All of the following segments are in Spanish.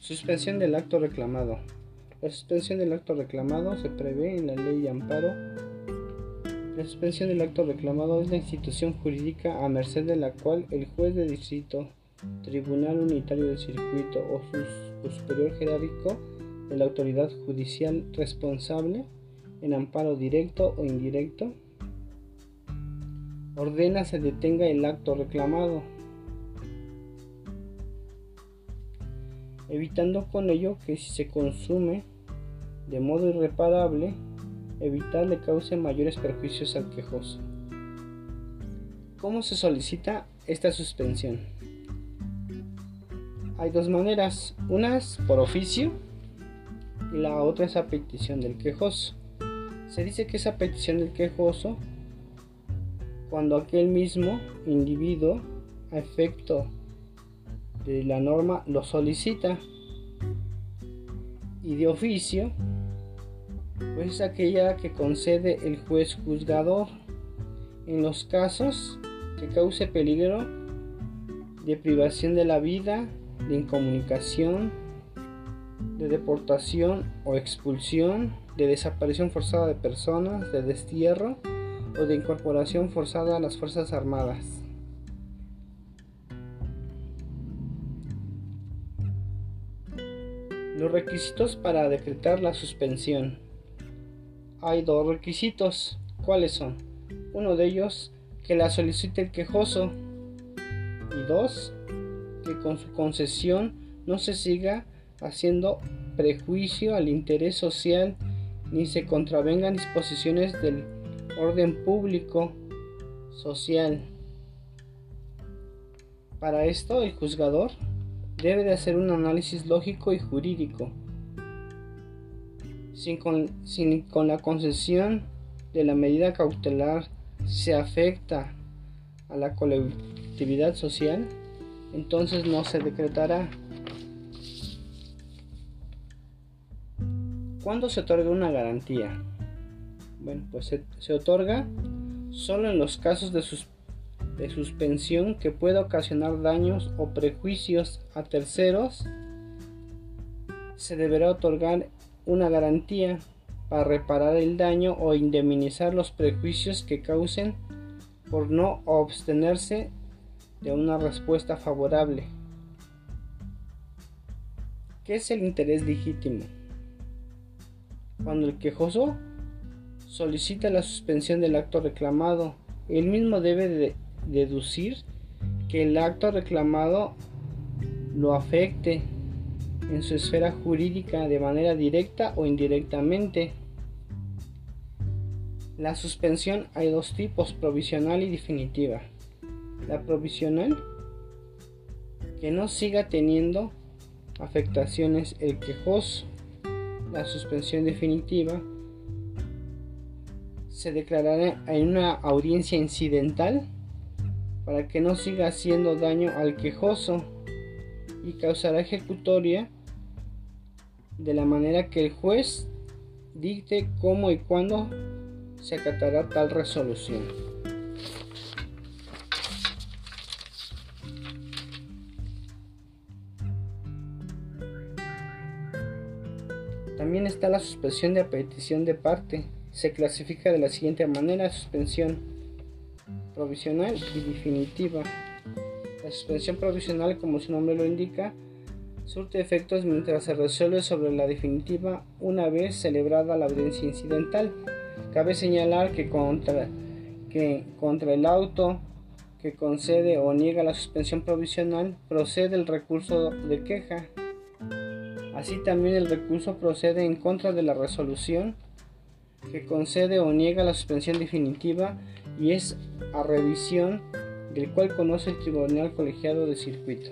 Suspensión del acto reclamado. La suspensión del acto reclamado se prevé en la Ley de Amparo. La suspensión del acto reclamado es la institución jurídica a merced de la cual el juez de distrito, tribunal unitario del circuito o su superior jerárquico de la autoridad judicial responsable, en amparo directo o indirecto, ordena se detenga el acto reclamado, evitando con ello que si se consume de modo irreparable, evitar le cause mayores perjuicios al quejoso. ¿Cómo se solicita esta suspensión? Hay dos maneras, una es por oficio y la otra es a petición del quejoso. Se dice que es a petición del quejoso cuando aquel mismo individuo, a efecto de la norma, lo solicita, y de oficio pues es aquella que concede el juez juzgador en los casos que cause peligro de privación de la vida, de incomunicación, de deportación o expulsión, de desaparición forzada de personas, de destierro o de incorporación forzada a las Fuerzas Armadas. Los requisitos para decretar la suspensión. Hay dos requisitos. ¿Cuáles son? Uno de ellos, que la solicite el quejoso, y dos, que con su concesión no se siga haciendo prejuicio al interés social ni se contravengan disposiciones del orden público social. Para esto, el juzgador debe de hacer un análisis lógico y jurídico. Si con la concesión de la medida cautelar se afecta a la colectividad social, entonces no se decretará. ¿Cuándo se otorga una garantía? Bueno, pues se otorga solo en los casos de suspensión que pueda ocasionar daños o prejuicios a terceros. Se deberá otorgar una garantía para reparar el daño o indemnizar los prejuicios que causen por no abstenerse de una respuesta favorable. ¿Qué es el interés legítimo? Cuando el quejoso solicita la suspensión del acto reclamado, él mismo debe deducir que el acto reclamado lo afecte en su esfera jurídica de manera directa o indirectamente. La suspensión hay dos tipos, provisional y definitiva. La provisional, que no siga teniendo afectaciones el quejoso. La suspensión definitiva se declarará en una audiencia incidental para que no siga haciendo daño al quejoso y causará ejecutoria de la manera que el juez dicte cómo y cuándo se acatará tal resolución. También está la suspensión de petición de parte. Se clasifica de la siguiente manera: suspensión provisional y definitiva. La suspensión provisional, como su nombre lo indica, surte efectos mientras se resuelve sobre la definitiva una vez celebrada la audiencia incidental. Cabe señalar que contra el auto que concede o niega la suspensión provisional procede el recurso de queja. Así también el recurso procede en contra de la resolución que concede o niega la suspensión definitiva y es a revisión del cual conoce el Tribunal Colegiado de Circuito.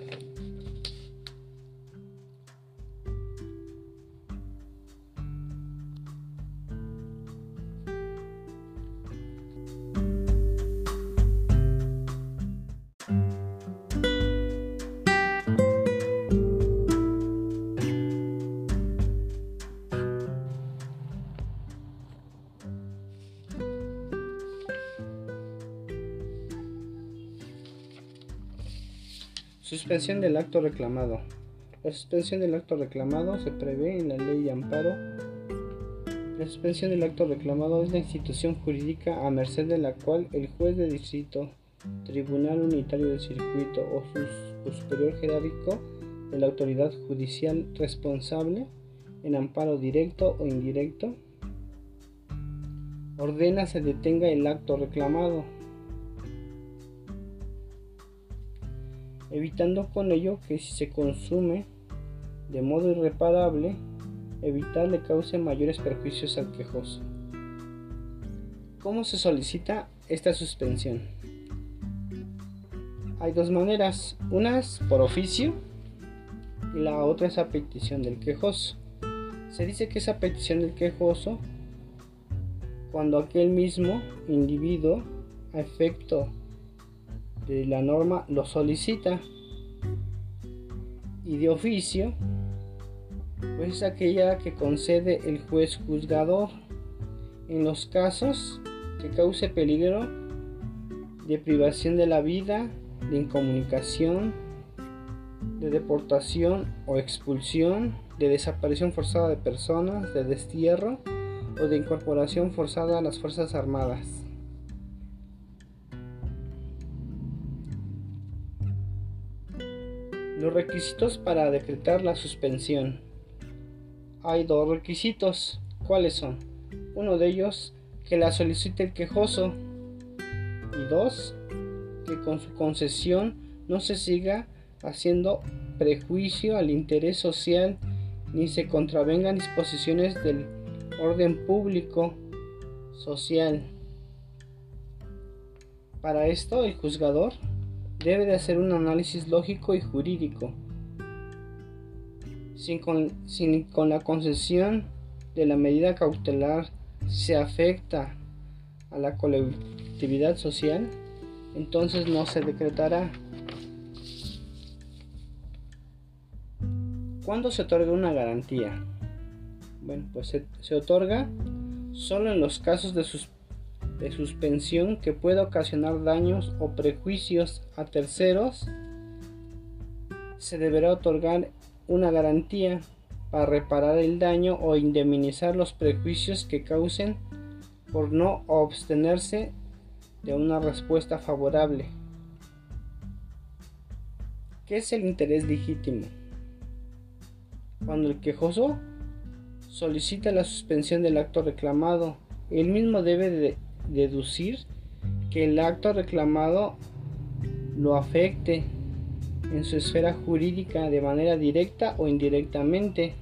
Suspensión del acto reclamado. La suspensión del acto reclamado se prevé en la Ley de Amparo. La suspensión del acto reclamado es la institución jurídica a merced de la cual el juez de distrito, Tribunal Unitario del Circuito o su superior jerárquico de la autoridad judicial responsable, en amparo directo o indirecto, ordena se detenga el acto reclamado, evitando con ello que si se consume de modo irreparable, evitar le cause mayores perjuicios al quejoso. ¿Cómo se solicita esta suspensión? Hay dos maneras, una es por oficio y la otra es a petición del quejoso. Se dice que es a petición del quejoso cuando aquel mismo individuo, a efecto de la norma, lo solicita, y de oficio pues es aquella que concede el juez juzgador en los casos que cause peligro de privación de la vida, de incomunicación, de deportación o expulsión, de desaparición forzada de personas, de destierro o de incorporación forzada a las Fuerzas Armadas. Los requisitos para decretar la suspensión. Hay dos requisitos. ¿Cuáles son? Uno de ellos, que la solicite el quejoso, y dos, que con su concesión no se siga haciendo prejuicio al interés social ni se contravengan disposiciones del orden público social. Para esto, el juzgador debe de hacer un análisis lógico y jurídico. Si con la concesión de la medida cautelar se afecta a la colectividad social, entonces no se decretará. ¿Cuándo se otorga una garantía? Bueno, pues se otorga solo en los casos de suspensión que pueda ocasionar daños o prejuicios a terceros. Se deberá otorgar una garantía para reparar el daño o indemnizar los prejuicios que causen por no abstenerse de una respuesta favorable. ¿Qué es el interés legítimo? Cuando el quejoso solicita la suspensión del acto reclamado, él mismo debe deducir que el acto reclamado lo afecte en su esfera jurídica de manera directa o indirectamente.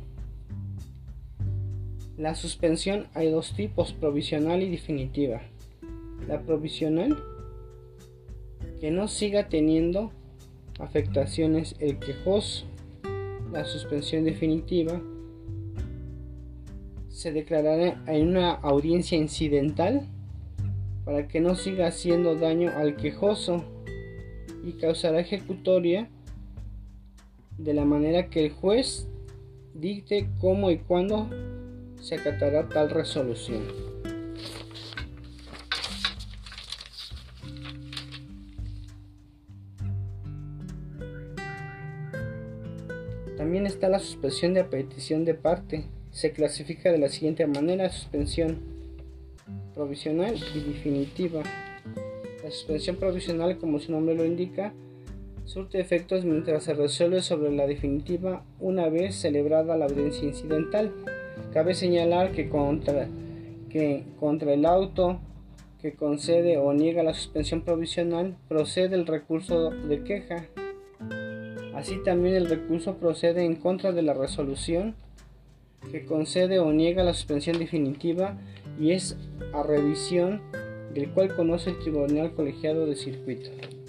La suspensión hay dos tipos, provisional y definitiva. La provisional, que no siga teniendo afectaciones el quejoso. La suspensión definitiva se declarará en una audiencia incidental para que no siga haciendo daño al quejoso y causará ejecutoria de la manera que el juez dicte cómo y cuándo se acatará tal resolución. También está la suspensión de petición de parte. Se clasifica de la siguiente manera: suspensión provisional y definitiva. La suspensión provisional, como su nombre lo indica, surte efectos mientras se resuelve sobre la definitiva una vez celebrada la audiencia incidental. Cabe señalar que contra el auto que concede o niega la suspensión provisional procede el recurso de queja. Así también el recurso procede en contra de la resolución que concede o niega la suspensión definitiva y es a revisión del cual conoce el Tribunal Colegiado de Circuito.